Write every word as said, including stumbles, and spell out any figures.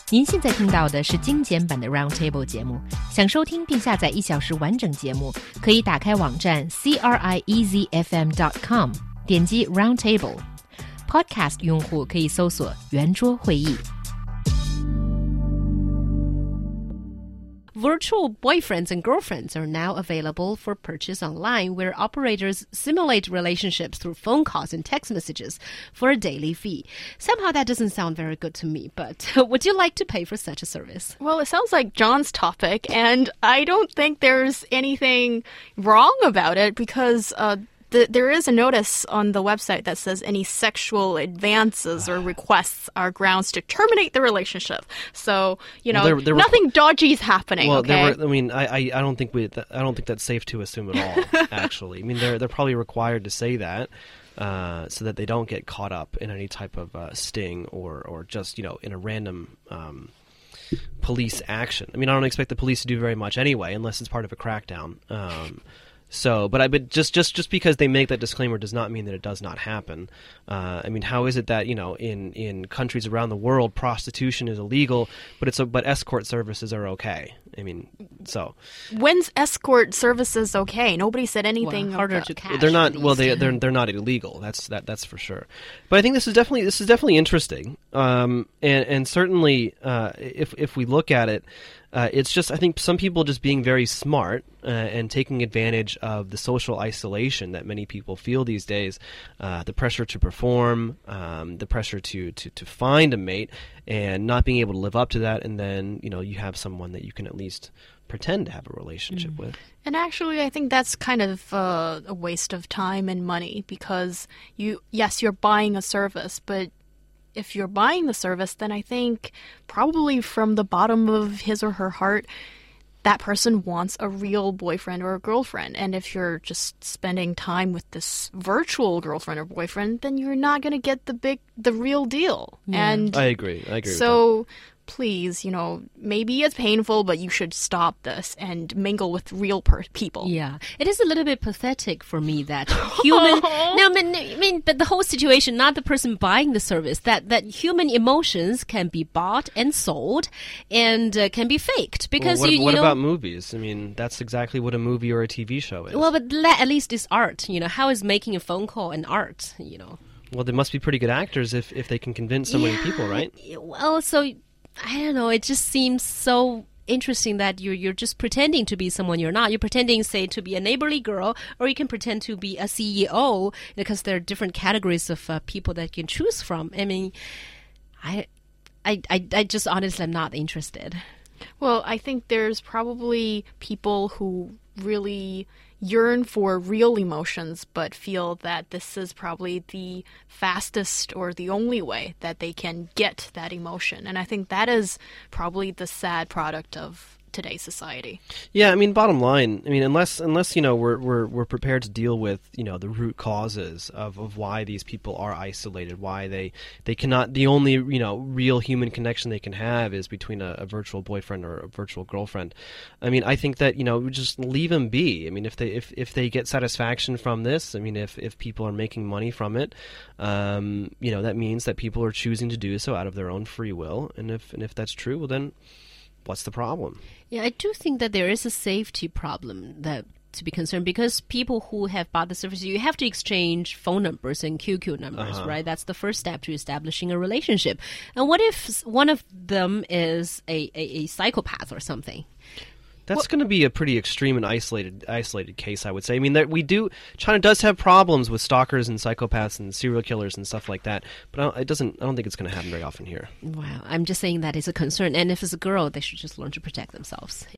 您现在听到的是精简版的 Roundtable 节目。想收听并下载一小时完整节目，可以打开网站 c r i e z f m dot com， 点击 Roundtable。Podcast 用户可以搜索圆桌会议。Virtual boyfriends and girlfriends are now available for purchase online, where operators simulate relationships through phone calls and text messages for a daily fee. Somehow that doesn't sound very good to me, but would you like to pay for such a service? Well, it sounds like John's topic, and I don't think there's anything wrong about it because uh, The, there is a notice on the website that says any sexual advances or requests are grounds to terminate the relationship. So, you know, well, there, there nothing were, dodgy is happening. Well, okay? there were, I mean, I, I, I don't think we, I don't think that's safe to assume at all. Actually, I mean, they're they're probably required to say that uh, so that they don't get caught up in any type of uh, sting or or just you know in a random. Um, police action. I mean, I don't expect the police to do very much anyway, unless it's part of a crackdown. Um, So, but I, but just, just, just because they make that disclaimer does not mean that it does not happen. Uh, I mean, how is it that you know, in, in countries around the world, prostitution is illegal, but it's a, but escort services are okay? I mean, so when's escort services okay? Nobody said anything. Well, harder to catch. They're not. Well, they they're they're not illegal. That's that that's for sure. But I think this is definitely this is definitely interesting. Um, and and certainly, uh, if if we look at it. Uh, it's just, I think, some people just being very smart uh, and taking advantage of the social isolation that many people feel these days, uh, the pressure to perform, um, the pressure to, to, to find a mate, and not being able to live up to that, and then, you know, you have someone that you can at least pretend to have a relationship mm. with. And actually, I think that's kind of uh, a waste of time and money because, you yes, you're buying a service, but if you're buying the service, then I think probably from the bottom of his or her heart, that person wants a real boyfriend or a girlfriend. And if you're just spending time with this virtual girlfriend or boyfriend, then you're not going to get the big, the real deal. Yeah. And I agree. I agree. So with that. Please, you know, maybe it's painful, but you should stop this and mingle with real per- people. Yeah, it is a little bit pathetic for me that human. no, I mean, I mean, but the whole situation, not the person buying the service, that that human emotions can be bought and sold, and uh, can be faked because well, what, you. What you know, about movies? I mean, that's exactly what a movie or a T V show is. Well, but at least it's art. You know, how is making a phone call an art? You know. Well, they must be pretty good actors if if they can convince so yeah, many people, right? Well, so. I don't know. It just seems so interesting that you're you're just pretending to be someone you're not. You're pretending, say, to be a neighborly girl, or you can pretend to be a C E O because there are different categories of uh, people that you can choose from. I mean, I, I, I, I just honestly am not interested. Well, I think there's probably people who really yearn for real emotions but feel that this is probably the fastest or the only way that they can get that emotion. And I think that is probably the sad product of today's society. Yeah, I mean, bottom line, I mean, unless unless you know we're we're we're prepared to deal with you know the root causes of, of why these people are isolated, why they they cannot. The only you know real human connection they can have is between a, a virtual boyfriend or a virtual girlfriend. I mean, I think that you know we just leave them be. I mean, if they if, if they get satisfaction from this, I mean, if if people are making money from it, um, you know, that means that people are choosing to do so out of their own free will. And if and if that's true, well then. What's the problem? Yeah, I do think that there is a safety problem that to be concerned because people who have bought the service, you have to exchange phone numbers and Q Q numbers, uh-huh. right? That's the first step to establishing a relationship. And what if one of them is a, a, a psychopath or something? That's well, going to be a pretty extreme and isolated isolated case, I would say. I mean, that we do. China does have problems with stalkers and psychopaths and serial killers and stuff like that, but I don't, it doesn't. I don't think it's going to happen very often here. Wow, I'm just saying that is a concern, and if it's a girl, they should just learn to protect themselves.